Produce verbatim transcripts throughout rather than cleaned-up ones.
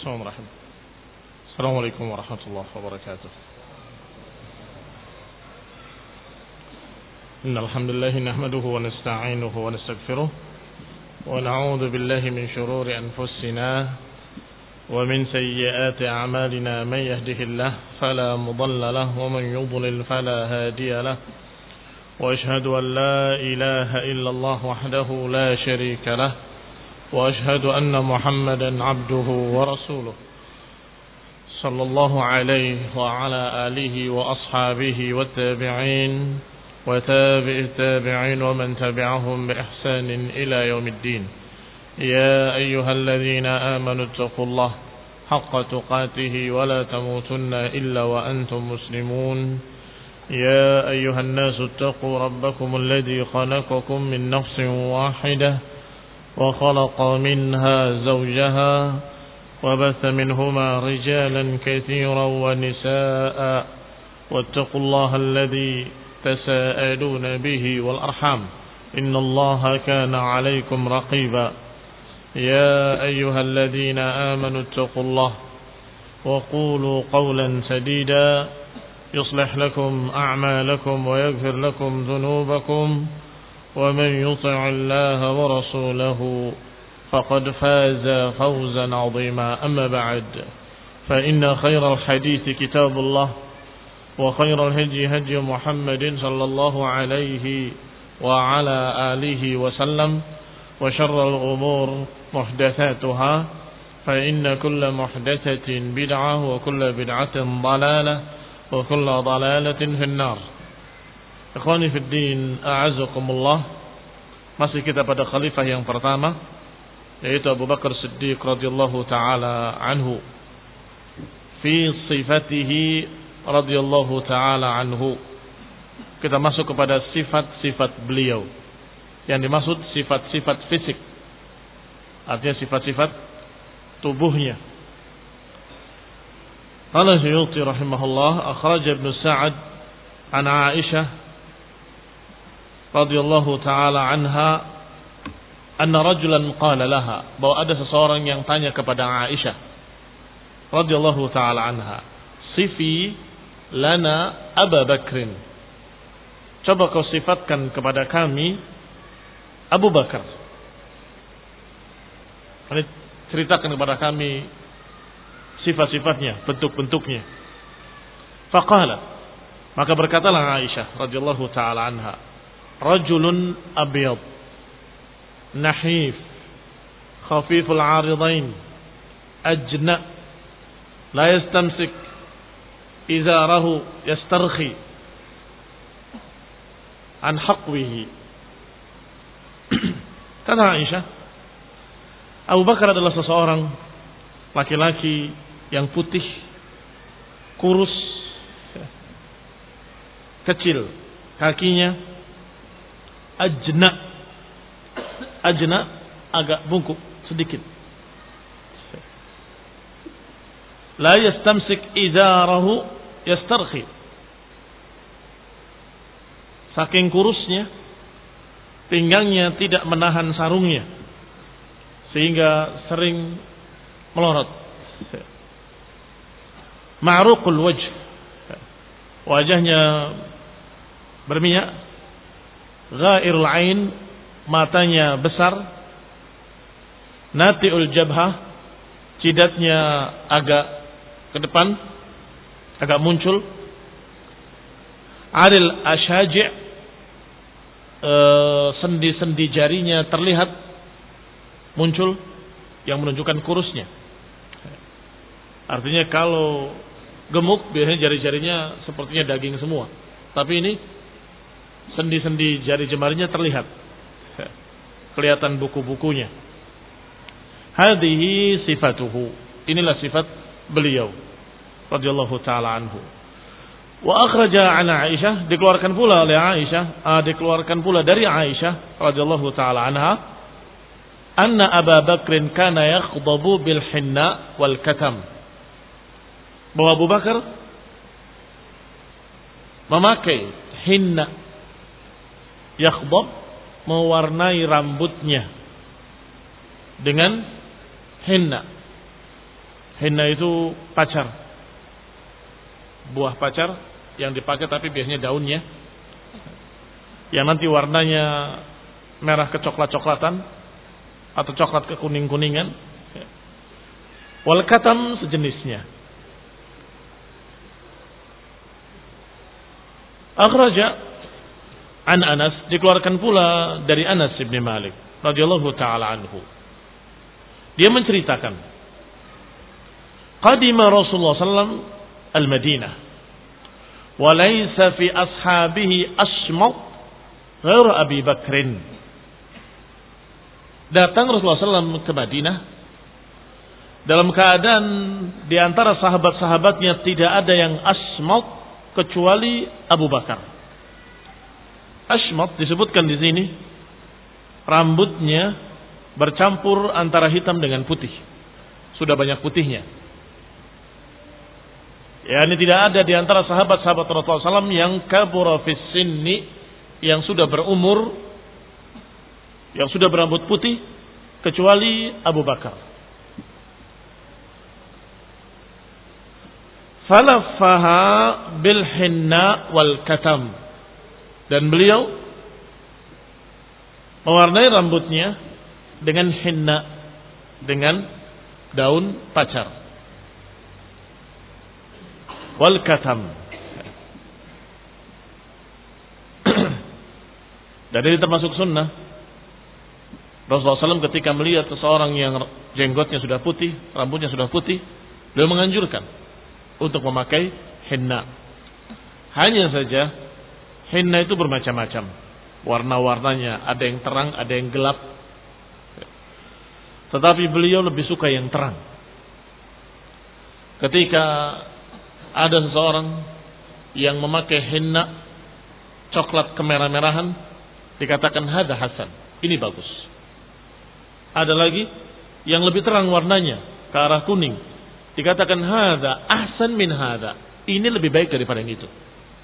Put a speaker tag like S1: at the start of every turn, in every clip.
S1: Bismillahirrahmanirrahim. Assalamualaikum warahmatullahi wabarakatuh. Innal hamdalillah nahmaduhu wa nasta'inuhu wa nastaghfiruh wa na'udzu billahi min shururi anfusina wa min sayyiati a'malina man yahdihillahu fala mudilla lahu wa man yudlil fala hadiya lahu wa ashhadu an la ilaha illallah wahdahu la sharika lahu wa ashhadu anna Muhammadan 'abduhu wa rasuluh sallallahu alaihi wa ala alihi wa ashabihi wa tabi'in wa tabi'it tabi'in wa man tabi'ahum bi ihsanin ila yaumiddin. Ya ayyuhalladzina amanu taqullaha haqqa tuqatih wa la tamutunna illa wa antum muslimun. Ya ayyuhan nasu taqu rabbakum alladzi khalaqakum min nafsin wahidah وخلق منها زوجها وبث منهما رجالا كثيرا ونساء واتقوا الله الذي تساءلون به والأرحام إن الله كان عليكم رقيبا. يا أيها الذين آمنوا اتقوا الله وقولوا قولا سديدا يصلح لكم أعمالكم ويغفر لكم ذنوبكم ومن يطع الله ورسوله فقد فاز فوزا عظيما. أما بعد فإن خير الحديث كتاب الله وخير الهدي هدي محمد صلى الله عليه وعلى آله وسلم وشر الأمور محدثاتها فإن كل محدثة بدعة وكل بدعة ضلالة وكل ضلالة في النار. Ikhwani fid din, a'azzakumullah. Masih kita pada khalifah yang pertama, yaitu Abu Bakar Siddiq radhiyallahu taala anhu. Fi sifatihi radhiyallahu taala anhu. Kita masuk kepada sifat-sifat beliau. Yang dimaksud sifat-sifat fisik. Artinya sifat-sifat tubuhnya. Qala Suyuti rahimahullah, akhraj Ibnu Sa'ad an Aisyah radhiyallahu taala anha anna rajulan qala laha, bahwa ada seseorang yang tanya kepada Aisyah radhiyallahu taala anha, sifi lana Abu Bakrin, coba kau sifatkan kepada kami Abu Bakar, ini ceritakan kepada kami sifat-sifatnya, bentuk-bentuknya. Faqala, maka berkatalah Aisyah radhiyallahu taala anha, rajulun abyad nahif khafiful aridain ajna la yastamsik izarahu yastarkhi an haqwihi. Kata Aisyah, Abu Bakar adalah seseorang laki-laki yang putih, kurus, kecil kakinya, ajna, ajna agak bungkuk sedikit. La yastamsik idarahu yastarkhi. Saking kurusnya, pinggangnya tidak menahan sarungnya, sehingga sering melorot. Ma'ruqul wajh, wajahnya berminyak. Ghairul ain, matanya besar. Nati'ul jabhah, jidatnya agak ke depan, agak muncul. Aril ashaji', e, sendi-sendi jarinya terlihat muncul, yang menunjukkan kurusnya. Artinya kalau gemuk biasanya jari-jarinya sepertinya daging semua, tapi ini sendi-sendi jari jemarinya terlihat, kelihatan buku-bukunya. Hadhihi sifatuhu, inilah sifat beliau radhiyallahu taala anhu. Wa akhraja an Aisyah, dikeluarkan pula oleh Aisyah, ah, dikeluarkan pula dari Aisyah radhiyallahu taala anha, anna Abu Bakrin kana yakhdabu bil hinna wal katam, bahwa Abu Bakar memakai hinna, yakhdab, mewarnai rambutnya dengan henna. Henna itu pacar, buah pacar yang dipakai tapi biasanya daunnya, yang nanti warnanya merah kecoklat-coklatan atau coklat kekuning-kuningan. Wal katam sejenisnya. Akhraja an Anas, dikeluarkan pula dari Anas bin Malik radhiyallahu taala anhu. Dia menceritakan, qadima Rasulullah sallallahu alaihi wasallam al-Madinah wa laysa fi ashabihi asmat ghair Abi Bakrin. Datang Rasulullah sallallahu alaihi wasallam ke Madinah dalam keadaan di antara sahabat-sahabatnya tidak ada yang asmat kecuali Abu Bakar. Asmat disebutkan di sini rambutnya bercampur antara hitam dengan putih. Sudah banyak putihnya. Ya, ini tidak ada di antara sahabat-sahabat Rasulullah sallallahu alaihi wasallam yang kabura fis sinni, yang sudah berumur, yang sudah berambut putih kecuali Abu Bakar. Falafaha bil hinna wal katam, dan beliau mewarnai rambutnya dengan hinna, dengan daun pacar, wal katam. Dan ini termasuk sunnah. Rasulullah sallallahu alaihi wasallam ketika melihat seseorang yang jenggotnya sudah putih, rambutnya sudah putih, beliau menganjurkan untuk memakai henna. Hanya saja henna itu bermacam-macam warna-warnanya, ada yang terang, ada yang gelap. Tetapi beliau lebih suka yang terang. Ketika ada seseorang yang memakai henna coklat kemerah-merahan, dikatakan hada hasan, ini bagus. Ada lagi yang lebih terang warnanya ke arah kuning, dikatakan hada ahsan min hada, ini lebih baik daripada yang itu.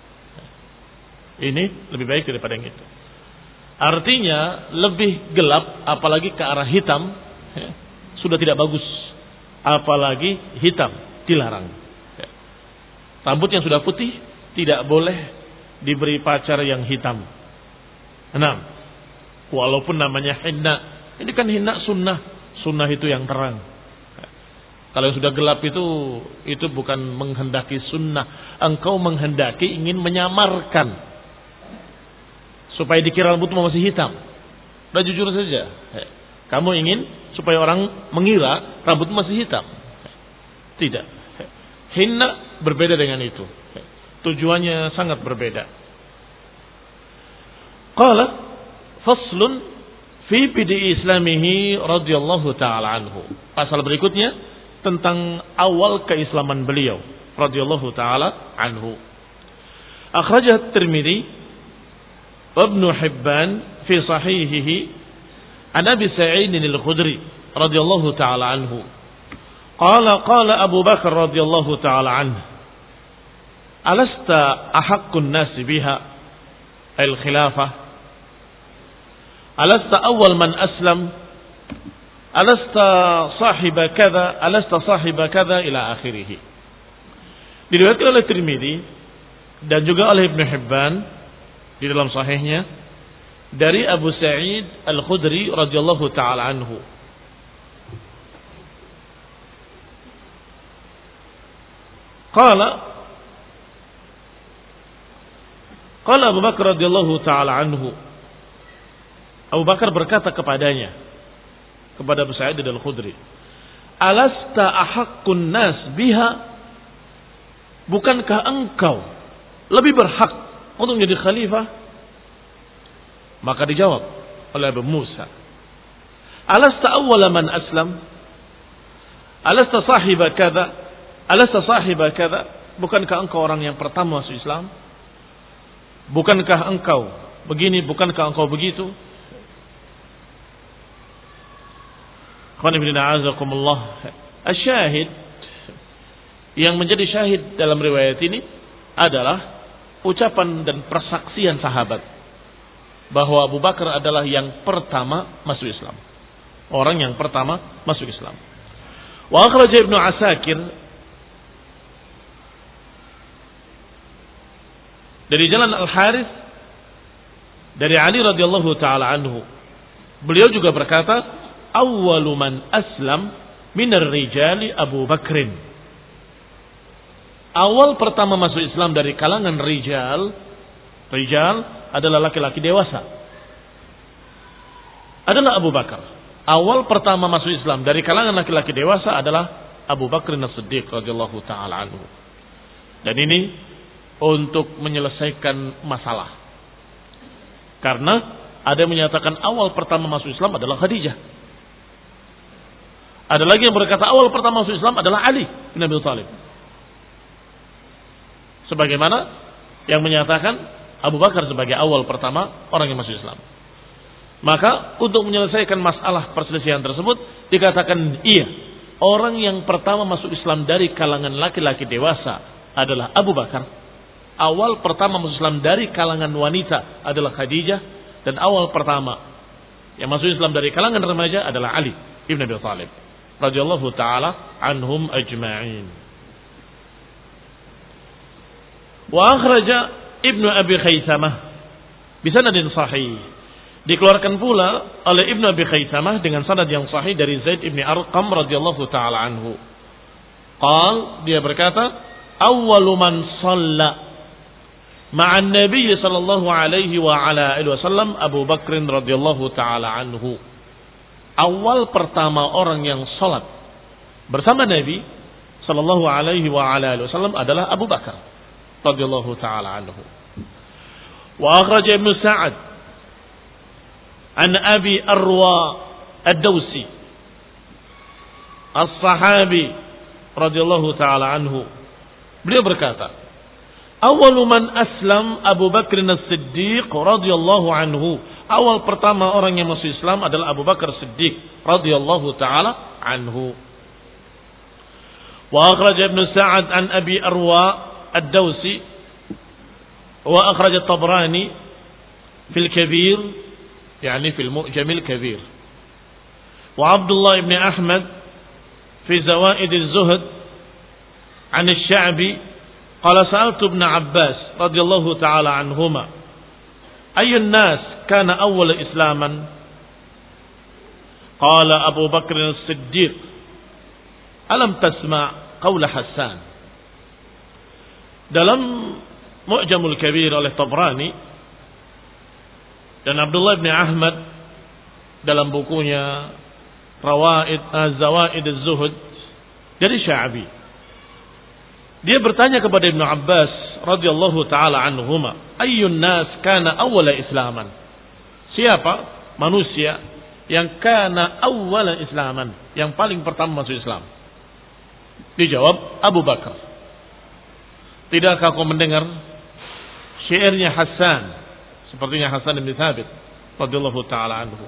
S1: Ini lebih baik daripada yang itu. Artinya lebih gelap apalagi ke arah hitam ya, sudah tidak bagus. Apalagi hitam dilarang. Ya. Rambut yang sudah putih tidak boleh diberi pacar yang hitam. Enam. Walaupun namanya henna, ini kan henna sunnah. Sunnah itu yang terang. Kalau yang sudah gelap itu, itu bukan menghendaki sunnah. Engkau menghendaki ingin menyamarkan, supaya dikira rambutmu masih hitam. Udah jujur saja. Kamu ingin supaya orang mengira rambutmu masih hitam. Tidak. Hinna berbeda dengan itu. Tujuannya sangat berbeda. Qala faslun fi bidi islamihi radhiyallahu ta'ala anhu. Pasal berikutnya tentang awal keislaman beliau radhiyallahu taala anhu. Akhrajah Tirmidzi wa Ibnu Hibban fi sahihihi an Abi Sa'id al-Khudri radhiyallahu taala anhu. Qala qala Abu Bakar radhiyallahu taala anhu, alasta ahaqqun nas biha al-khilafah, alasta awwal man aslam, alasta sahiba kada, alasta sahiba kada ila akhirih. Diriwayatkan oleh Tirmidzi dan juga oleh Ibnu Hibban di dalam sahihnya dari Abu Sa'id Al-Khudri radhiyallahu taala anhu. Qala Qala Abu Bakar radhiyallahu taala anhu. Abu Bakar berkata kepadanya, kepada Abu Sa'id Al-Khudri, alasta ahaqqun nas biha, bukankah engkau lebih berhak untuk menjadi khalifah? Maka dijawab oleh Abu Musa, alasta awwala man aslam, alasta sahiba kada, alasta sahiba kada, bukankah engkau orang yang pertama masuk Islam? Bukankah engkau begini, bukankah engkau begitu? Asyahid, yang menjadi syahid dalam riwayat ini adalah ucapan dan persaksian sahabat bahwa Abu Bakar adalah yang pertama masuk Islam, orang yang pertama masuk Islam. Wa akhraja Ibnu Asakir dari jalan Al-Harits dari Ali radhiyallahu taala anhu. Beliau juga berkata, awwalu man aslam minar rijali Abu Bakrin. Awal pertama masuk Islam dari kalangan rijal, rijal adalah laki-laki dewasa, adalah Abu Bakar. Awal pertama masuk Islam dari kalangan laki-laki dewasa adalah Abu Bakr As-Siddiq radhiyallahu taala anhu. Dan ini untuk menyelesaikan masalah. Karena ada yang menyatakan awal pertama masuk Islam adalah Khadijah. Ada lagi yang berkata awal pertama masuk Islam adalah Ali bin Abi Thalib. Sebagaimana yang menyatakan Abu Bakar sebagai awal pertama orang yang masuk Islam. Maka untuk menyelesaikan masalah perselisihan tersebut dikatakan iya, orang yang pertama masuk Islam dari kalangan laki-laki dewasa adalah Abu Bakar. Awal pertama masuk Islam dari kalangan wanita adalah Khadijah, dan awal pertama yang masuk Islam dari kalangan remaja adalah Ali ibn Abi Thalib radhiyallahu taala anhum ajma'in. Wa akhraja Ibnu Abi Khaisamah bi sanadin sahih. Dikeluarkan pula oleh Ibnu Abi Khaisamah dengan sanad yang sahih dari Zaid ibn Arqam radhiyallahu taala anhu. Qal, dia berkata, awwalu man shalla ma'an Nabi sallallahu alaihi wa ala alihi wasallam Abu Bakr radhiyallahu taala anhu. Awal pertama orang yang salat bersama Nabi sallallahu alaihi wa ala alihi wasallam adalah Abu Bakar radhiyallahu taala anhu. Wa akhraja Ibnu Sa'ad an Abi Arwa Ad-Dawsi as-sahabi radhiyallahu taala anhu. Beliau berkata, awalu man aslam Abu Bakr As-Siddiq radhiyallahu anhu. Awal pertama orang yang masuk Islam adalah Abu Bakar Siddiq radhiyallahu taala anhu. Wa akhraj Ibnu Sa'ad an Abi Arwa Ad-Dawsi wa akhraj At-Tabrani fil Kabir, yani fil Mu'jam al-Kabir. Wa Abdullah ibn Ahmad fi Zawaid az-Zuhd an Asy-Sya'bi qala sa'altu Ibn Abbas radhiyallahu ta'ala anhuma ayyun nas kana awwal islaman qala Abu Bakr As-Siddiq alam tasma' qaula Hassan. Dalam Mu'jamul Kabir oleh Tabrani dan Abdullah bin Ahmad dalam bukunya Rawaid Az-Zawaid Az-Zuhd dari Sya'bi, dia bertanya kepada Ibnu Abbas radhiyallahu taala anhuma, ayyun nas kana awwala islaman? Siapa manusia yang kana awwala islaman, yang paling pertama masuk Islam? Dijawab Abu Bakar. Tidakkah kau mendengar syairnya Hassan, sepertinya Hassan bin Thabit radhiyallahu taala anhu?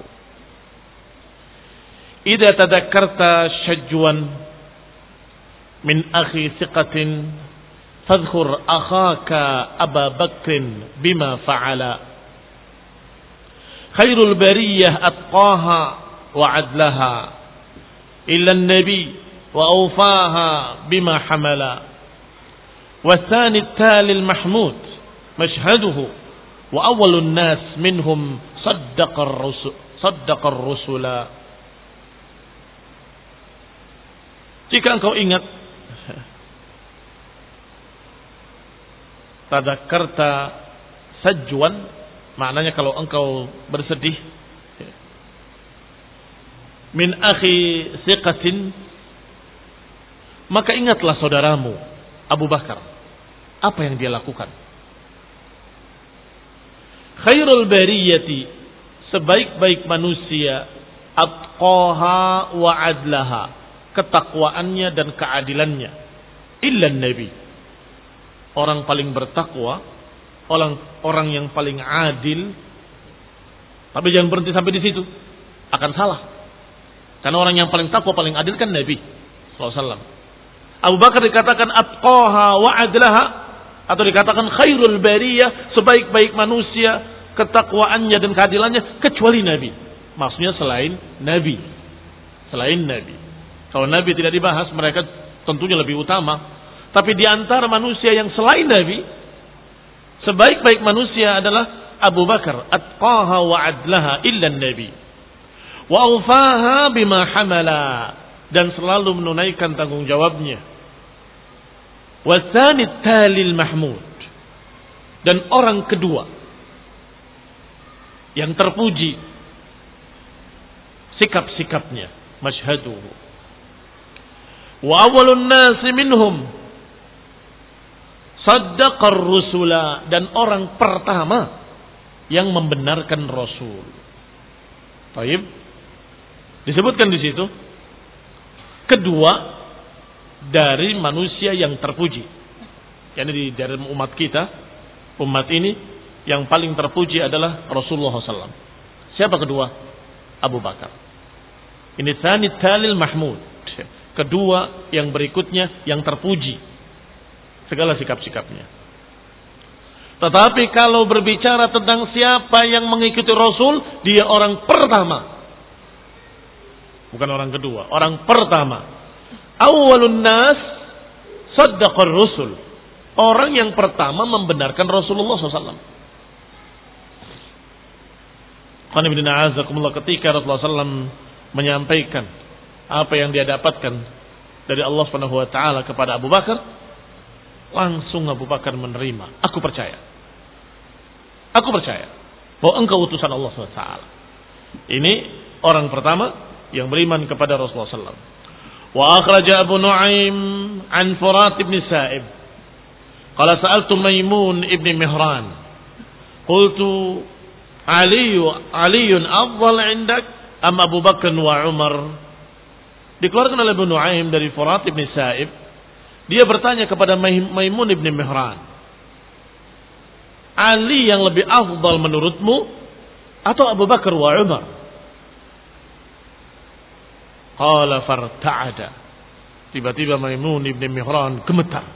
S1: Idza tadakkarta syajwan min akhi thiqatin fadhkur akhaka Aba Bakrin bima fa'ala khairul bariyah atqaha wa adlaha illa an-nabi wa awfaha bima hamala wa thani at-tali al-mahmud mashhaduhu wa awwalun nas minhum saddaqa ar-rusul saddaqa ar-rusula. Jika engkau ingat tadakkarta sajwan, maknanya kalau engkau bersedih, min akhi thiqatin, maka ingatlah saudaramu Abu Bakar, apa yang dia lakukan. Khairul bariyati, sebaik-baik manusia, atqaha wa adlaha, ketakwaannya dan keadilannya, illa nabi, orang paling bertakwa, orang orang yang paling adil. Tapi jangan berhenti sampai di situ, akan salah. Karena orang yang paling takwa, paling adil kan Nabi sallallahu alaihi wasallam. Abu Bakar dikatakan atqaha wa adlaha, atau dikatakan khairul bariyah, sebaik-baik manusia, ketakwaannya dan keadilannya, kecuali Nabi. Maksudnya selain Nabi, selain Nabi. Kalau Nabi tidak dibahas, mereka tentunya lebih utama. Tapi di antara manusia yang selain Nabi, sebaik-baik manusia adalah Abu Bakar, atqaha wa adlaha illa Nabi, wa awfaha bima hamala, dan selalu menunaikan tanggung jawabnya. Wa tsani talil mahmud, dan orang kedua yang terpuji sikap-sikapnya, masyhaduhu. Wa awwalun nasi minhum saddaqar rusula, dan orang pertama yang membenarkan Rasul. Baik. Disebutkan di situ kedua dari manusia yang terpuji. Yani di dari umat kita, umat ini yang paling terpuji adalah Rasulullah shallallahu alaihi wasallam. Siapa kedua? Abu Bakar. Ini tsani talil mahmud. Kedua yang berikutnya yang terpuji segala sikap-sikapnya. Tetapi kalau berbicara tentang siapa yang mengikuti Rasul, dia orang pertama. Bukan orang kedua, orang pertama. Awwalun nas saddaqar rusul. Orang yang pertama membenarkan Rasulullah shallallahu alaihi wasallam. Ketika Rasulullah shallallahu alaihi wasallam menyampaikan apa yang dia dapatkan dari Allah Subhanahu wa taala kepada Abu Bakar, langsung Abu Bakar menerima. Aku percaya. Aku percaya bahwa engkau utusan Allah Subhanahu wa taala. Ini orang pertama yang beriman kepada Rasulullah sallallahu alaihi wasallam. Wa akhraja Abu Nuaim an Furat ibn Sa'ib. Qala sa'altu Maimun ibn Mihran. Qultu Ali Aliun afdal 'indak am Abu Bakar wa Umar? Dikeluarkan oleh Abu Nuaim dari Furat ibn Sa'ib. Dia bertanya kepada Maimun ibn Mihran, Ali yang lebih afdal menurutmu atau Abu Bakar wa Umar? Qala farta'ada. Tiba-tiba Maimun ibn Mihran gemetar.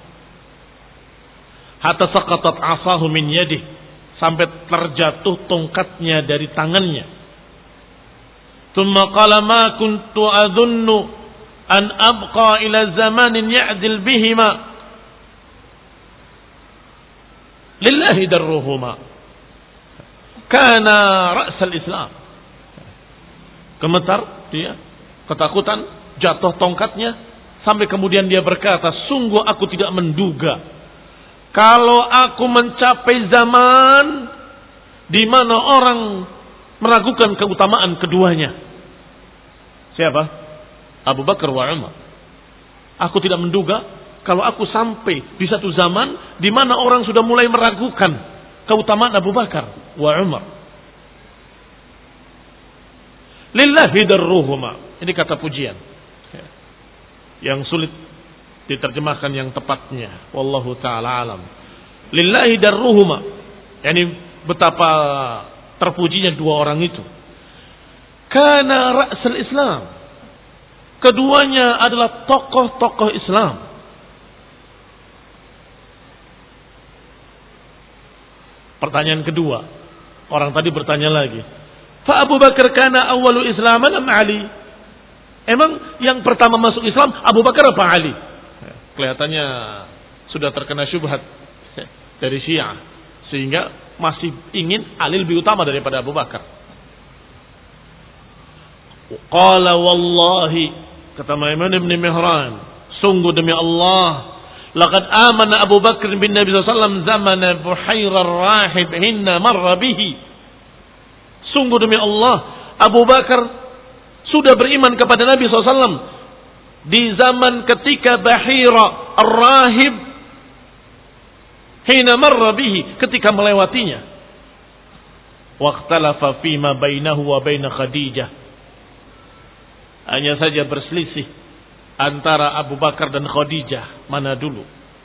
S1: Hatta saqatat asahu min yadih, sampai terjatuh tongkatnya dari tangannya. Thumma qala ma kuntu adhunnu an abqa ila zamanin ya'dil bihima lillahi darruhuma kana ra'sal Islam. Gemetar dia, ketakutan, jatuh tongkatnya, sampai kemudian dia berkata, sungguh aku tidak menduga kalau aku mencapai zaman di mana orang meragukan keutamaan keduanya. Siapa? Abu Bakar wa Umar. Aku tidak menduga kalau aku sampai di satu zaman di mana orang sudah mulai meragukan keutamaan Abu Bakar wa Umar. Lillahi darruhuma. Ini kata pujian yang sulit diterjemahkan yang tepatnya. Wallahu ta'ala alam. Lillahi darruhuma. Yani betapa terpujinya dua orang itu. Kana ra'sul Islam. Keduanya adalah tokoh-tokoh Islam. Pertanyaan kedua, orang tadi bertanya lagi, fa Abu Bakar kana awwalu islaman am Ali? Emang yang pertama masuk Islam Abu Bakar apa Ali? Kelihatannya sudah terkena syubhat dari Syiah, sehingga masih ingin Ali lebih utama daripada Abu Bakar. Qala wallahi, kata Maimun ibn Mihran, sungguh demi Allah, laqad amana Abu Bakar bin Nabi sallallahu alaihi wasallam zamana Buhairar Rahib hinna marra bihi. Sungguh demi Allah, Abu Bakar sudah beriman kepada Nabi sallallahu alaihi wasallam di zaman ketika Bahira Ar-Rahib hina marra bihi, ketika melewatinya. Waqtalafa fima bainahu wa bain Khadijah. Hanya saja berselisih antara Abu Bakar dan Khadijah, mana dulu.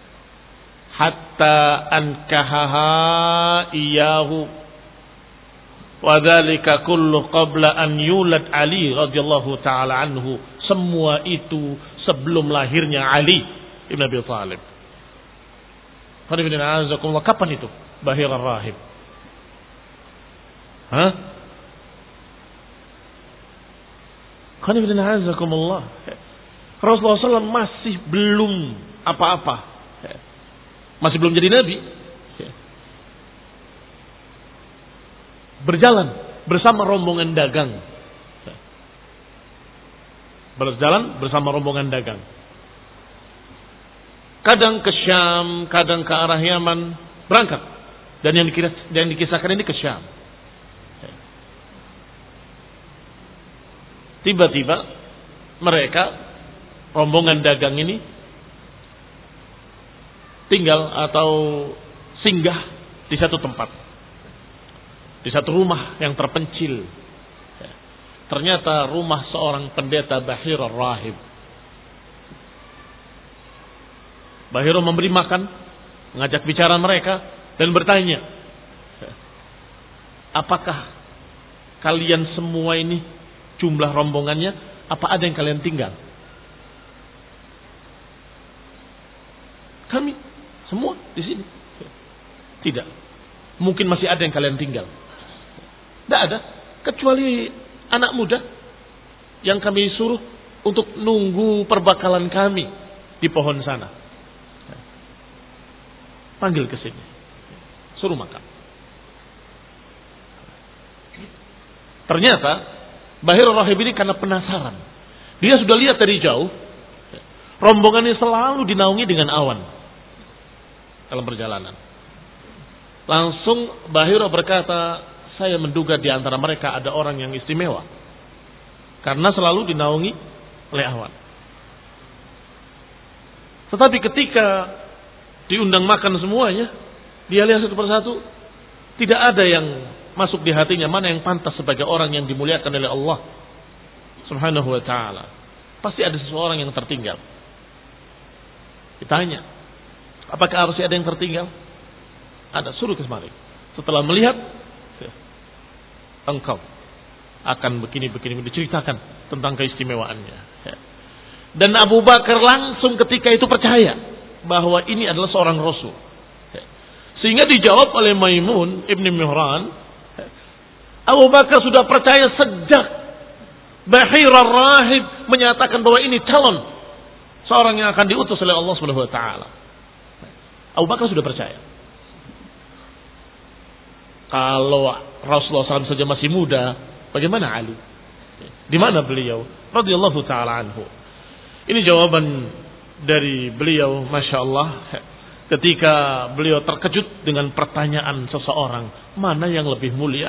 S1: Hatta ankahaha iyahu wa dzalika kullu qabla an yulad Ali radhiyallahu taala anhu. Semua itu sebelum lahirnya Ali ibn Abi Thalib. Kapan itu Bahir Ar-Rahib? Hah?
S2: Rasulullah shallallahu alaihi wasallam masih belum apa-apa. Masih belum jadi nabi. Berjalan bersama rombongan dagang. Berjalan bersama rombongan dagang. Kadang ke Syam, kadang ke arah Yaman, berangkat. Dan yang, dikira, yang dikisahkan ini ke Syam. Tiba-tiba mereka, rombongan dagang ini, tinggal atau singgah di satu tempat. Di satu rumah yang terpencil. Ternyata rumah seorang pendeta Bahir Ar-Rahib. Bahir memberi makan, mengajak bicara mereka, dan bertanya, apakah kalian semua ini jumlah rombongannya, apa ada yang kalian tinggal? Kami semua di sini. Tidak. Mungkin masih ada yang kalian tinggal. Tidak ada, kecuali anak muda yang kami suruh untuk nunggu perbakalan kami di pohon sana. Panggil ke sini, suruh makan. Ternyata Bahir Rahib ini karena penasaran, dia sudah lihat dari jauh rombongan ini selalu dinaungi dengan awan dalam perjalanan. Langsung Bahir berkata, saya menduga di antara mereka ada orang yang istimewa karena selalu dinaungi oleh awan. Tetapi ketika diundang makan semuanya, dia lihat satu persatu, tidak ada yang masuk di hatinya mana yang pantas sebagai orang yang dimuliakan oleh Allah Subhanahu wa ta'ala. Pasti ada seseorang yang tertinggal. Ditanya, apakah harus ada yang tertinggal? Ada, suruh ke semari. Setelah melihat, engkau akan begini-begini, diceritakan tentang keistimewaannya. Dan Abu Bakar langsung ketika itu percaya bahwa ini adalah seorang Rasul. Sehingga dijawab oleh Maimun Ibn Mihran, Abu Bakar sudah percaya sejak Bahir Ar-Rahib menyatakan bahwa ini calon seorang yang akan diutus oleh Allah Subhanahu wa taala. Abu Bakar sudah percaya. Kalau Rasulullah shallallahu alaihi wasallam saja masih muda, bagaimana Ali? Di mana beliau? Radhiyallahu taala anhu. Ini jawaban dari beliau, Masya Allah, ketika beliau terkejut dengan pertanyaan seseorang, mana yang lebih mulia,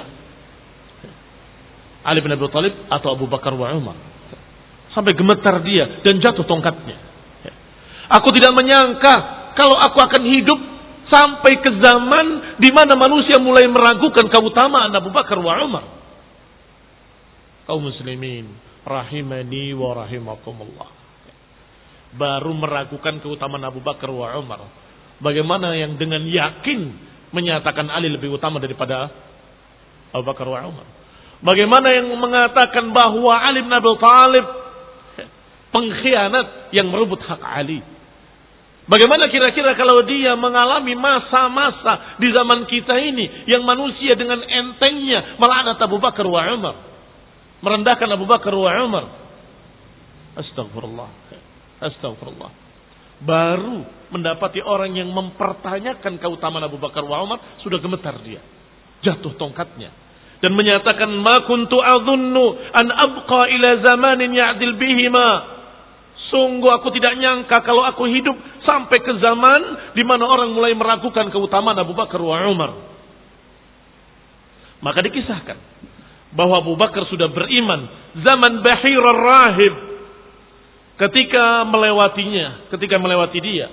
S2: Ali bin Abi Thalib atau Abu Bakar wa Umar? Sampai gemetar dia dan jatuh tongkatnya. Aku tidak menyangka kalau aku akan hidup sampai ke zaman di mana manusia mulai meragukan keutamaan Abu Bakar wa Umar. Kaum muslimin rahimani wa rahimakumullah. Baru meragukan keutamaan Abu Bakar wa Umar. Bagaimana yang dengan yakin menyatakan Ali lebih utama daripada Abu Bakar wa Umar? Bagaimana yang mengatakan bahwa Ali bin Abi Thalib pengkhianat yang merebut hak Ali? Bagaimana kira-kira kalau dia mengalami masa-masa di zaman kita ini yang manusia dengan entengnya melaknat Abu Bakar wa Umar, merendahkan Abu Bakar wa Umar? Astagfirullah. Astagfirullah. Baru mendapati orang yang mempertanyakan keutamaan Abu Bakar wa Umar, sudah gemetar dia. Jatuh tongkatnya. Dan menyatakan, ma kuntu adhunnu an abqa ila zamanin ya'dil bihima. Sungguh aku tidak nyangka kalau aku hidup sampai ke zaman di mana orang mulai meragukan keutamaan Abu Bakar wa Umar. Maka dikisahkan bahwa Abu Bakar sudah beriman zaman Bahir Ar-Rahib. Ketika melewatinya, ketika melewati dia.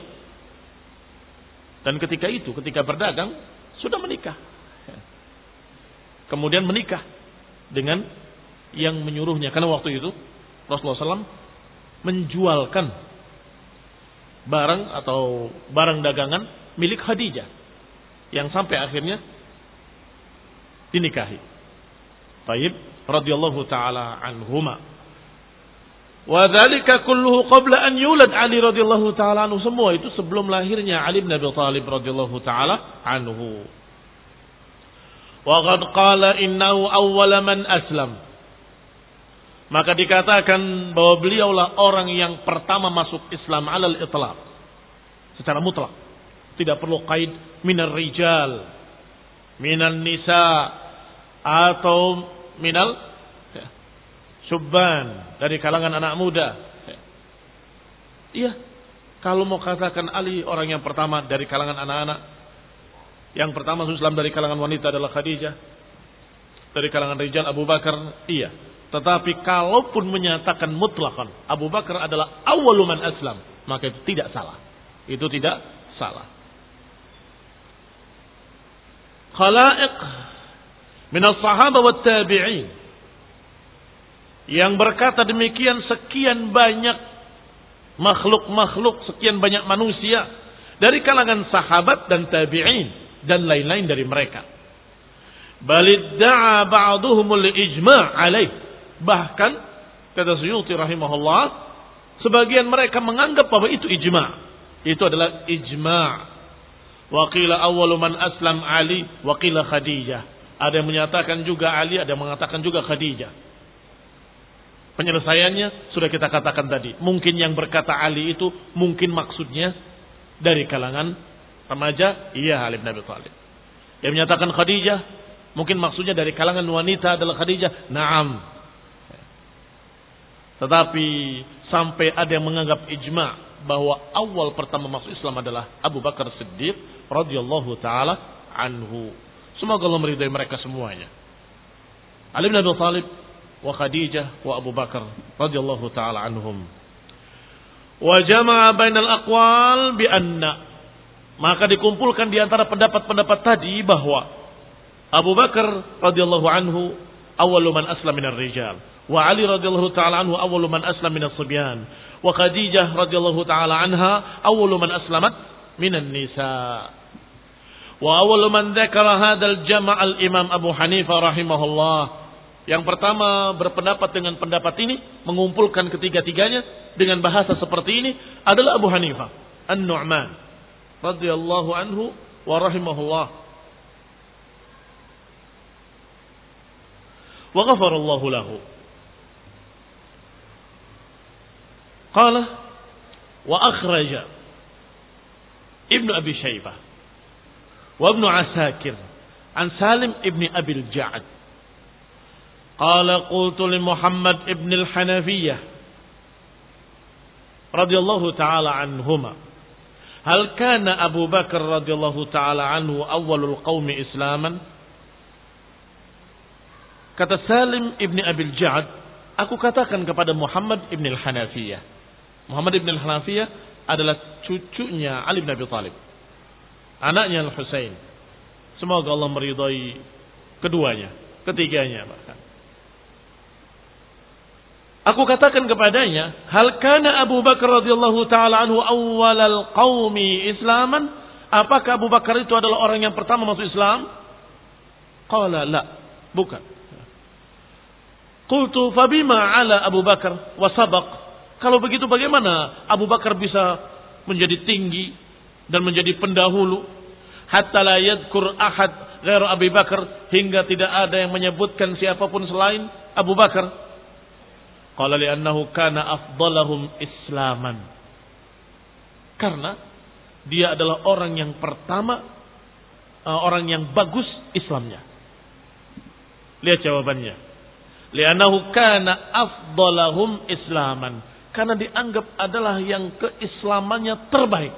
S2: Dan ketika itu, ketika berdagang, sudah menikah. Kemudian menikah dengan yang menyuruhnya. Karena waktu itu, Rasulullah shallallahu alaihi wasallam menjualkan barang atau barang dagangan milik Khadijah. Yang sampai akhirnya dinikahi. Taib radhiyallahu ta'ala anhuma. Wa dzalika kulluhu qabla an yulad Ali radhiyallahu taala anhu. Semua itu sebelum lahirnya Ali bin Abi Thalib radhiyallahu taala anhu. Wa qad qala innahu awwala man aslam. maka dikatakan bahwa beliaulah orang yang pertama masuk Islam alal itlaq, secara mutlak, tidak perlu qaid minar rijal, minan nisa, atau minal syubban, dari kalangan anak muda. Iya, kalau mau katakan Ali orang yang pertama dari kalangan anak-anak, yang pertama masuk Islam dari kalangan wanita adalah Khadijah, dari kalangan rijal Abu Bakar, iya. Tetapi kalaupun menyatakan mutlakan Abu Bakar adalah awwalu man aslam, maka itu tidak salah. Itu tidak salah. Khalaiq min as-sahabah wat tabi'in yang berkata demikian sekian banyak makhluk-makhluk, sekian banyak manusia dari kalangan sahabat dan tabi'in dan lain-lain dari mereka. Balidda'a ba'duhumul ijma' alaih. Bahkan kata Suyuti rahimahullah, sebagian mereka menganggap bahwa itu ijma'. Itu adalah ijma'. Wa qila awwalu man aslam Ali wa qila Khadijah. Ada yang menyatakan juga Ali, ada yang mengatakan juga Khadijah. Penyelesaiannya sudah kita katakan tadi. Mungkin yang berkata Ali itu mungkin maksudnya dari kalangan remaja, iya Ali bin Abi Thalib. Yang menyatakan Khadijah mungkin maksudnya dari kalangan wanita adalah Khadijah. Naam. Tetapi sampai ada yang menganggap ijma' bahwa awal pertama masuk Islam adalah Abu Bakar Siddiq radhiyallahu taala anhu. Semoga Allah meridai mereka semuanya. Ali bin Abi Thalib wa Khadijah wa Abu Bakar radhiyallahu taala anhum. Wa jama'a bainal aqwal bi anna, maka dikumpulkan di antara pendapat-pendapat tadi bahwa Abu Bakar radhiyallahu anhu awwalu man aslama minar rijal, wa Ali radhiyallahu taala anhu awwalu man aslama minas subyan, wa Khadijah radhiyallahu taala anha awwalu man aslamat minan nisa. Wa awwalu man dzakara hadzal jama' al-Imam Abu Hanifah rahimahullah. Yang pertama berpendapat dengan pendapat ini, mengumpulkan ketiga-tiganya dengan bahasa seperti ini adalah Abu Hanifah An-Nu'man radhiyallahu anhu wa rahimahullah. Wa ghafarallahu lahu. Qala wa akhraja Ibnu Abi Syaibah wa Ibnu Asakir an Salim ibn Abi al-Ja'd qala qultu li Muhammad ibn al-Hanafiyyah radhiyallahu ta'ala anhuma hal kana Abu Bakar radhiyallahu ta'ala anhu awwalul qaumi islaman. Kata Salim ibn Abi al-Ja'd, aku katakan kepada Muhammad ibn al-Hanafiyyah. Muhammad ibn al-Hanafiyyah adalah cucunya Ali bin Abi Thalib, anaknya Al-Husain. Semoga Allah meridai keduanya, ketiganya bahkan. Aku katakan kepadanya, hal kana Abu Bakar radhiyallahu taala anhu awwalal qaumi islaman? Apakah Abu Bakar itu adalah orang yang pertama masuk Islam? Qala la, bukan. Qultu fabima ala Abu Bakar wa sabaq? Kalau begitu bagaimana Abu Bakar bisa menjadi tinggi dan menjadi pendahulu hatta la yadhkur ahad ghairu Abi Bakar, hingga tidak ada yang menyebutkan siapapun selain Abu Bakar? Qala li'annahu kana afdalahum islaman. Karena dia adalah orang yang pertama, orang yang bagus Islamnya. Lihat jawabannya. Li'annahu kana afdalahum islaman. Karena dianggap adalah yang keislamannya terbaik.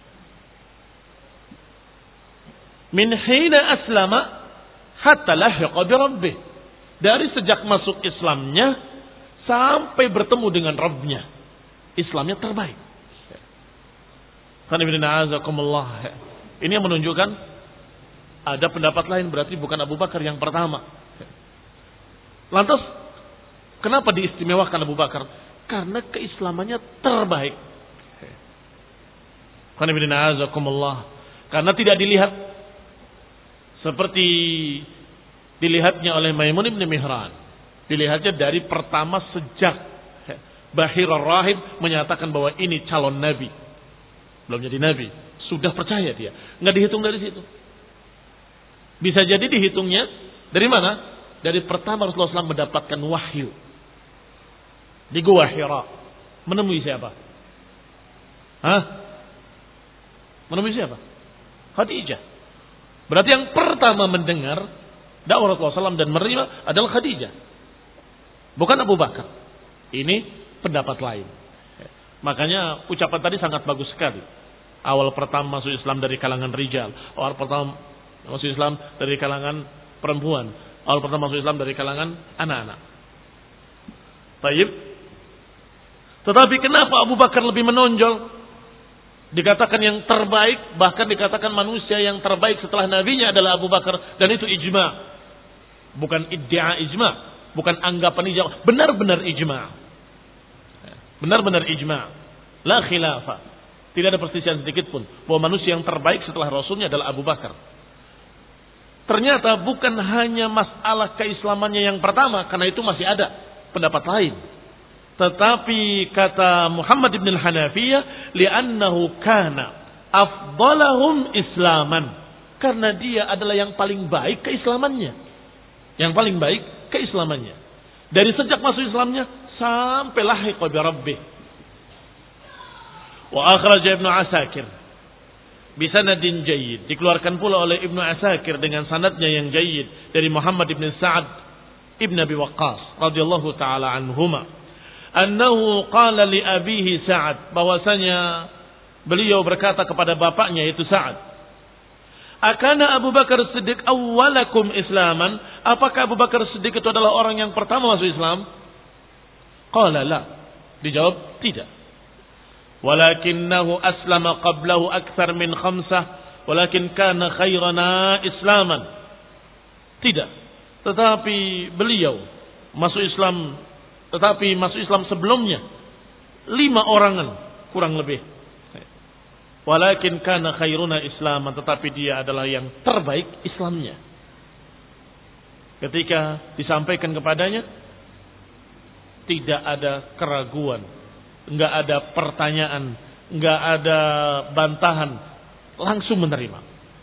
S2: Min hina aslama hatta lahiqa bi rabbih. Dari sejak masuk Islamnya sampai bertemu dengan Rabbnya, Islamnya terbaik. Ini yang menunjukkan ada pendapat lain, berarti bukan Abu Bakar yang pertama. Lantas kenapa diistimewakan Abu Bakar? Karena keislamannya terbaik. Karena tidak dilihat seperti dilihatnya oleh Maimun bin Mihran. Dilihatnya dari pertama sejak Bahir ar-Rahib menyatakan bahwa ini calon nabi. Belum jadi nabi, sudah percaya dia. Nggak dihitung dari situ. Bisa jadi dihitungnya dari mana? Dari pertama Rasulullah shallallahu alaihi wasallam mendapatkan wahyu. di Gua Hira. Menemui siapa? Hah? Menemui siapa? Khadijah. Berarti yang pertama mendengar dakwah Rasulullah shallallahu alaihi wasallam dan menerima adalah Khadijah. Bukan Abu Bakar. Ini pendapat lain. Makanya ucapan tadi sangat bagus sekali. Awal pertama masuk Islam dari kalangan rijal. Awal pertama masuk Islam dari kalangan perempuan. Awal pertama masuk Islam dari kalangan anak-anak. Baik. Tetapi kenapa Abu Bakar lebih menonjol? Dikatakan yang terbaik, bahkan dikatakan manusia yang terbaik setelah nabinya adalah Abu Bakar. Dan itu ijma. Bukan iddia ijma. Bukan anggapan ijma. Benar-benar ijma. Benar-benar ijma. La khilafah. Tidak ada perselisihan sedikit pun bahwa manusia yang terbaik setelah Rasulnya adalah Abu Bakar. Ternyata bukan hanya masalah keislamannya yang pertama, karena itu masih ada pendapat lain. Tetapi kata Muhammad ibn al-Hanafiyah, li'annahu kana afdalahum islaman. Karena dia adalah yang paling baik keislamannya. Yang paling baik keislamannya. Dari sejak masuk Islamnya sampai lahiqa bi rabbih. Wa akhraja Ibnu Asakir bi sanadin jayyid. Dikeluarkan pula oleh Ibnu Asakir dengan sanadnya yang jayyid dari Muhammad ibn Sa'ad ibn Abi Waqqas radhiyallahu taala anhuma. Annahu qala li abihi Sa'ad, bahwasanya beliau berkata kepada bapaknya yaitu Sa'ad, akana Abu Bakar Siddiq awwalakum islaman? Apakah Abu Bakar Siddiq itu adalah orang yang pertama masuk Islam? Qala la. Dijawab tidak. Walakinnahu aslama qablahu akthar min khamsah, walakin kana khairana islaman. Tidak. Tetapi beliau masuk Islam, tetapi masuk Islam sebelumnya lima orangan kurang lebih. Walakin kana khairuna islaman, tetapi dia adalah yang terbaik Islamnya. Ketika disampaikan kepadanya, tidak ada keraguan, enggak ada pertanyaan, enggak ada bantahan, langsung menerima.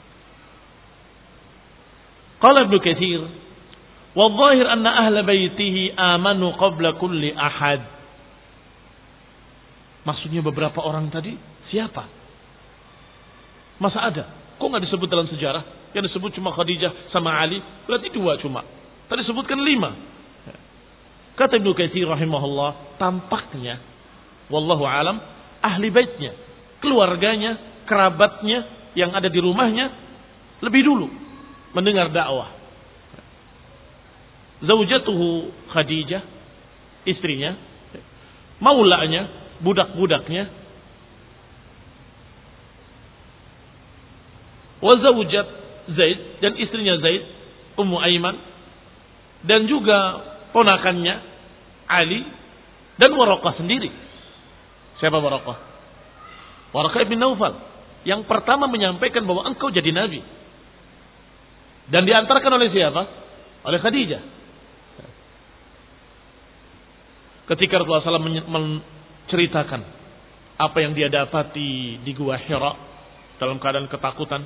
S2: Qala Ibnu Katsir, wa dhahir anna ahla baitihi amanu qabla kulli ahad. Maksudnya beberapa orang tadi siapa? Masa ada? Kok nggak disebut dalam sejarah? Yang disebut cuma Khadijah sama Ali, berarti dua cuma. Tadi disebutkan lima. Kata Ibnu Katsir rahimahullah, tampaknya wallahu alam ahli baitnya, keluarganya, kerabatnya yang ada di rumahnya lebih dulu mendengar dakwah. Zaujatuhu Khadijah, istrinya, maulanya, budak-budaknya, wa zaujat Zaid, dan istrinya Zaid, Ummu Aiman, dan juga ponakannya Ali, dan Waraqah sendiri. Siapa Waraqah? Waraqah ibn Naufal, yang pertama menyampaikan bahwa engkau jadi nabi. Dan diantarkan oleh siapa? Oleh Khadijah. Ketika Rasulullah shallallahu alaihi wasallam menceritakan apa yang dia dapati di Gua Hira dalam keadaan ketakutan,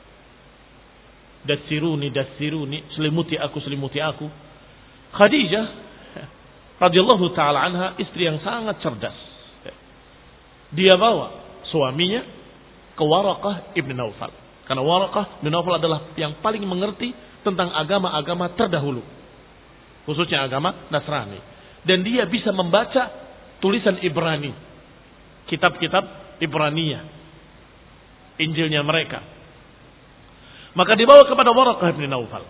S2: dasiruni dasiruni, selimuti aku selimuti aku, Khadijah radhiyallahu taala anha, istri yang sangat cerdas, dia bawa suaminya ke Waraqah ibn Naufal, karena Waraqah ibn Naufal adalah yang paling mengerti tentang agama-agama terdahulu, khususnya agama Nasrani. Dan dia bisa membaca tulisan Ibrani, kitab-kitab Ibraniyah, Injilnya mereka. Maka dibawa kepada Waraqah bin Naufal.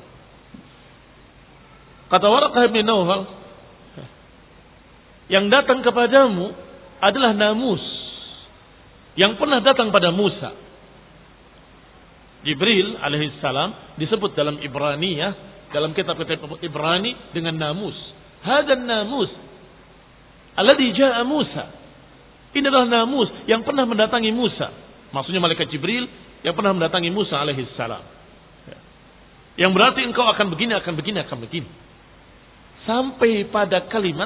S2: Kata Waraqah bin Naufal, yang datang kepadamu adalah Namus, yang pernah datang pada Musa. Jibril alaihissalam disebut dalam Ibraniyah, dalam kitab-kitab Ibrani dengan Namus. Hadan Namus alladhi jaa Musa. Ini adalah Namus yang pernah mendatangi Musa. Maksudnya malaikat Jibril yang pernah mendatangi Musa alaihissalam. Yang berarti engkau akan begini, akan begini, akan begini. Sampai pada kalimat,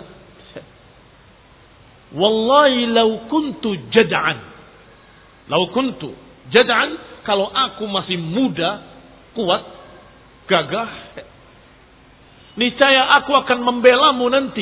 S2: wallahi law kuntu jad'an. Law kuntu jad'an, kalau aku masih muda, kuat, gagah, niscaya aku akan membelamu nanti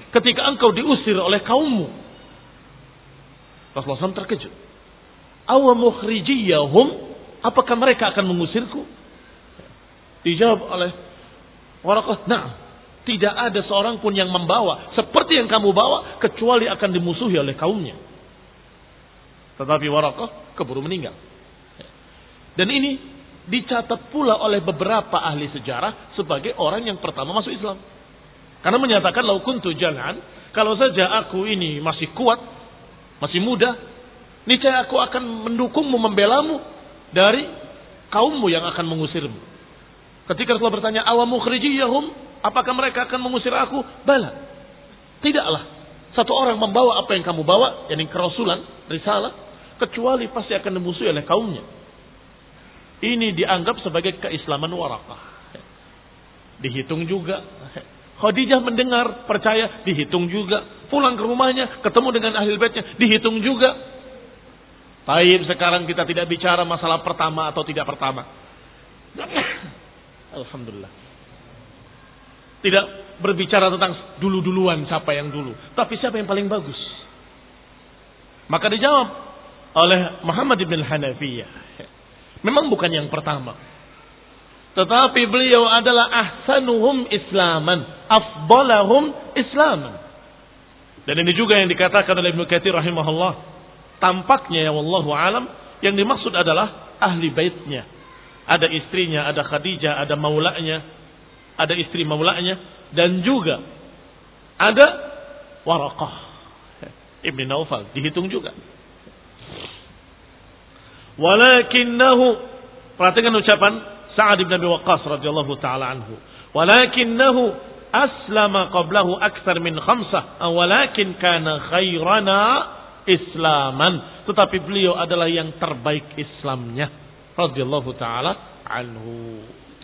S2: ketika engkau diusir oleh kaummu. Rasulullah shallallahu alaihi wasallam terkejut. Awa mukhrijiyahum, apakah mereka akan mengusirku? Dijawab oleh Waraqah, "Na'am." Tidak ada seorang pun yang membawa seperti yang kamu bawa kecuali akan dimusuhi oleh kaumnya. Tetapi Waraqah keburu meninggal. Dan ini dicatat pula oleh beberapa ahli sejarah sebagai orang yang pertama masuk Islam. Karena menyatakan, "Lau kuntu jalan," kalau saja aku ini masih kuat, masih muda, niscaya aku akan mendukungmu, membelamu dari kaummu yang akan mengusirmu. Ketika Rasulullah bertanya, "Awa mukhrijiyahum," apakah mereka akan mengusir aku? Bala. Tidaklah satu orang membawa apa yang kamu bawa, yakni kerasulan, risalah, kecuali pasti akan dimusuhi oleh kaumnya. Ini dianggap sebagai keislaman Waraqah. Dihitung juga. Khadijah mendengar, percaya, dihitung juga. Pulang ke rumahnya, ketemu dengan ahli baitnya, dihitung juga. Baik, sekarang kita tidak bicara masalah pertama atau tidak pertama. Alhamdulillah. Tidak berbicara tentang dulu-duluan siapa yang dulu, tapi siapa yang paling bagus. Maka dijawab oleh Muhammad ibn Hanafiyah, memang bukan yang pertama, tetapi beliau adalah ahsanuhum islaman, afdalahum islaman. Dan ini juga yang dikatakan oleh Ibnu Katsir rahimahullah. Tampaknya ya wallahu alam yang dimaksud adalah ahli baitnya. Ada istrinya, ada Khadijah, ada maulanya, ada istri maulanya, dan juga ada Waraqah Ibn Naufal, dihitung juga. Walakinnahu, perhatikan ucapan Sa'ad ibn Abi Waqqas radhiyallahu taala anhu. Walakinnahu aslama qablahu akthar min khamsah, walakin kana khairana islaman. Tetapi beliau adalah yang terbaik Islamnya radhiyallahu taala anhu.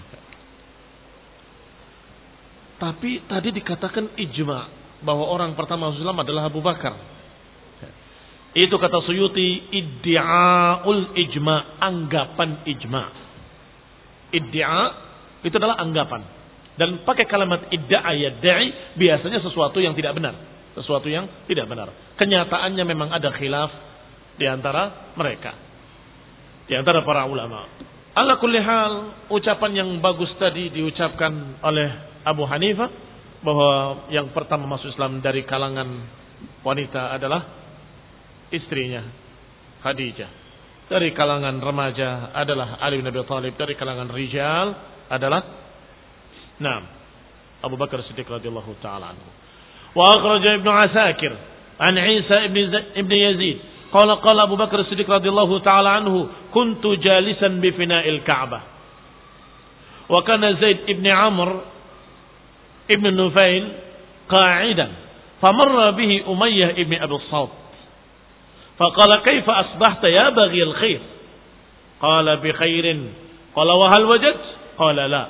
S2: Tapi tadi dikatakan ijma bahwa orang pertama Islam adalah Abu Bakar. Itu kata Suyuti, iddi'aul ijma, anggapan ijma. Iddia itu adalah anggapan. Dan pakai kalimat idda'a yadda'i biasanya sesuatu yang tidak benar, sesuatu yang tidak benar. Kenyataannya memang ada khilaf di antara mereka, di antara para ulama. Ala kulli hal, ucapan yang bagus tadi diucapkan oleh Abu Hanifah bahwa yang pertama masuk Islam dari kalangan wanita adalah istrinya Khadijah. Dari kalangan remaja adalah Ali bin Abi Thalib. Dari kalangan rijal adalah Naam Abu Bakar Siddiq radhiyallahu taala anhu. Wa akhraja Ibnu Asakir an Isa ibn ibn Yazid qala qala Abu Bakar Siddiq radhiyallahu taala anhu kuntu jalisan bi fina'il Ka'bah wa kana Zaid ibn Amr ibn Nufail qa'idan famarra bihi Umayyah ibn Abi Salt faqala kaifa asbahta ya baghi al-khair qala bi khairin qala wa hal wajad qala la.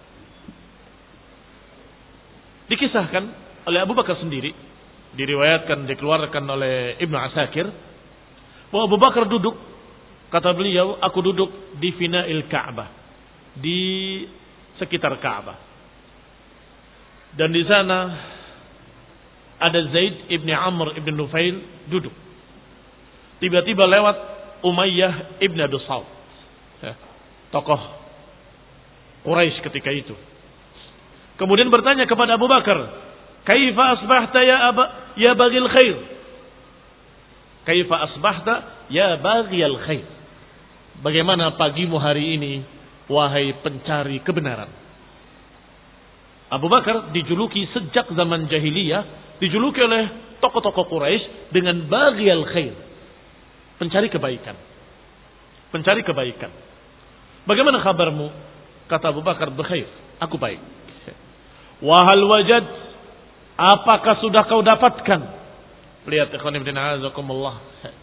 S2: Dikisahkan oleh Abu Bakar sendiri, diriwayatkan, dikeluarkan oleh Ibnu Asakir, bahwa Abu Bakar duduk, kata beliau, aku duduk di fina'il Ka'bah, di sekitar Ka'bah. Dan di sana ada Zaid ibn Amr ibn Nufail duduk. Tiba-tiba lewat Umayyah ibn Abi Salt, tokoh Quraisy ketika itu. Kemudian bertanya kepada Abu Bakar, "Kaifa asbahta ya aba ya baghil khair?" Kaifa asbahta ya baghil khair? Bagaimana pagimu hari ini wahai pencari kebenaran? Abu Bakar dijuluki sejak zaman jahiliyah, dijuluki oleh tokoh-tokoh Quraisy dengan baghil khair, pencari kebaikan. Pencari kebaikan. Bagaimana kabarmu? Kata Abu Bakar, "Bekhair, aku baik." Wahal wajad, apakah sudah kau dapatkan? Lihat ikhwan ibn a'azakumullah.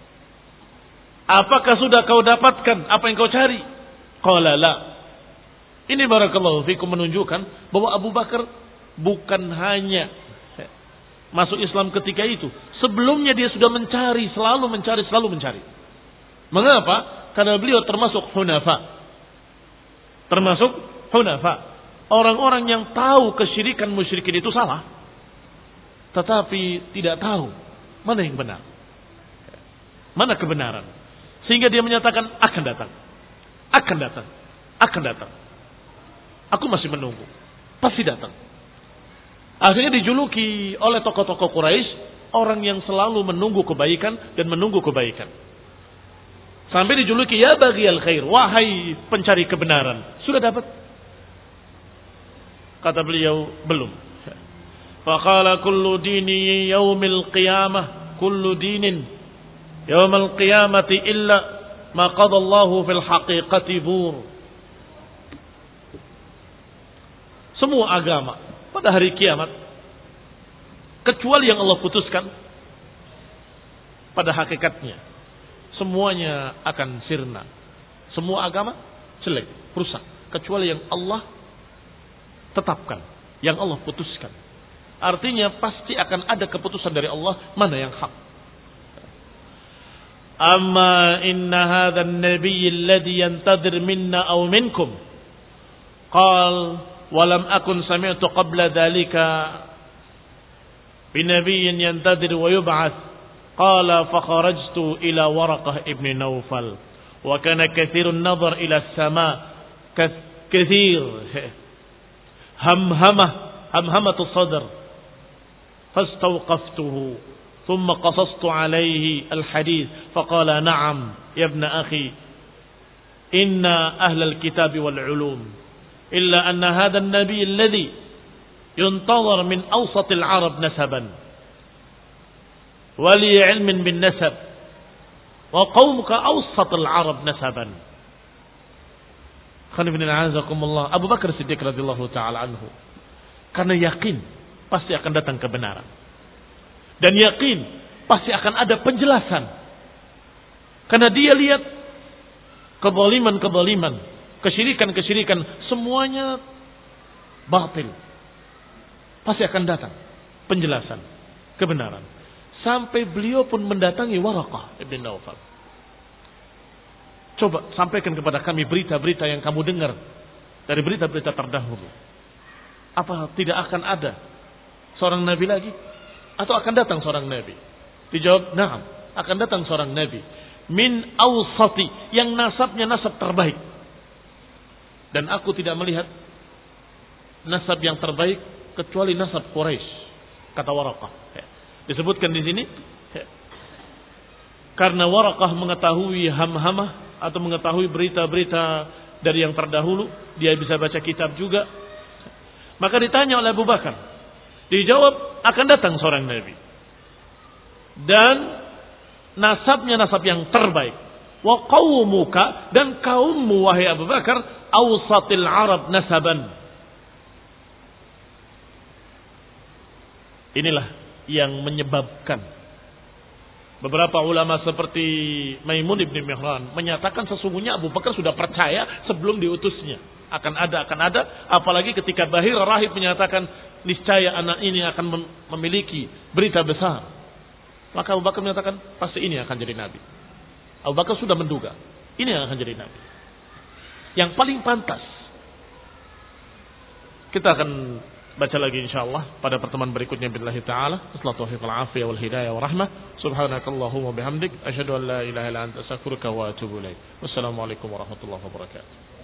S2: Apakah sudah kau dapatkan apa yang kau cari? Qala la. Ini barakallahu fikum menunjukkan bahwa Abu Bakar bukan hanya masuk Islam ketika itu. Sebelumnya dia sudah mencari, selalu mencari, selalu mencari. Mengapa? Karena beliau termasuk hunafa. Termasuk hunafa. Orang-orang yang tahu kesyirikan musyrikin itu salah. tetapi tidak tahu mana yang benar, mana kebenaran, sehingga dia menyatakan akan datang, akan datang, akan datang. Aku masih menunggu, pasti datang. Akhirnya dijuluki oleh tokoh-tokoh Quraisy orang yang selalu menunggu kebaikan dan menunggu kebaikan. Sampai dijuluki ya baghiyal khair, wahai pencari kebenaran. Sudah dapat? Kata beliau, belum. Faqala kullu dini yaumil qiyamah, kullu dinin yaumil qiyamati illa ma qada Allahu fil haqiqati bur. Semua agama pada hari kiamat kecuali yang Allah putuskan pada hakikatnya semuanya akan sirna. Semua agama jelek, rusak, kecuali yang Allah tetapkan, yang Allah putuskan. Artinya pasti akan ada keputusan dari Allah mana yang hak. Amma inna hadha an-nabiy alladhi yantadir minna aw minkum qal wa lam akun sami'tu qabla dhalika bi nabiyyin yantadir wa yub'ath qala fa kharajtu ila Waraqah ibn Nawfal wa kana kathirun nadhar ila as-sama' kathir hamhamah hamhamatu sadr fastawqaftuhu ثم قصصت عليه الحديث فقال نعم يا ابن أخي إن أهل الكتاب والعلوم إلا أن هذا النبي الذي ينتظر من أوسط العرب نسبا ولي علم بالنسب وقومك أوسط العرب نسبا خلينا نعزكم الله Abu Bakar Siddiq radhiyallahu taala anhu karena yakin pasti akan datang kebenaran dan yakin pasti akan ada penjelasan. Karena dia lihat kezaliman-kezaliman, kesyirikan-kesyirikan, semuanya batil. Pasti akan datang penjelasan, kebenaran. Sampai beliau pun mendatangi Waraqah ibn Nawfal. Coba sampaikan kepada kami berita-berita yang kamu dengar dari berita-berita terdahulu. Apa tidak akan ada seorang nabi lagi? Atau akan datang seorang nabi? Dijawab, na'am, akan datang seorang nabi min awsati, yang nasabnya nasab terbaik. Dan aku tidak melihat nasab yang terbaik kecuali nasab Quraisy, kata Waraqah. Disebutkan di sini karena Waraqah mengetahui hamhamah atau mengetahui berita-berita dari yang terdahulu, dia bisa baca kitab juga. Maka ditanya oleh Abu Bakar, dijawab akan datang seorang nabi dan nasabnya nasab yang terbaik. Wa qaumuka, dan kaummu wahai Abu Bakar, awsatil Arab nasaban. Inilah yang menyebabkan beberapa ulama seperti Maimun ibn Mihran menyatakan sesungguhnya Abu Bakar sudah percaya sebelum diutusnya akan ada akan ada apalagi ketika Bahir Rahib menyatakan niscaya anak ini akan memiliki berita besar, maka Abu Bakar menyatakan pasti ini akan jadi nabi. Abu Bakar sudah menduga ini yang akan jadi nabi. Yang paling pantas kita akan baca lagi insyaallah pada pertemuan berikutnya billahi taala. Wassalatu wal afiyah wal hidayah wa rahmah. Subhanakallahumma bihamdik asyhadu an la ilaha illa anta astaghfiruka wa atubu ilaik. Wassalamualaikum warahmatullahi wabarakatuh.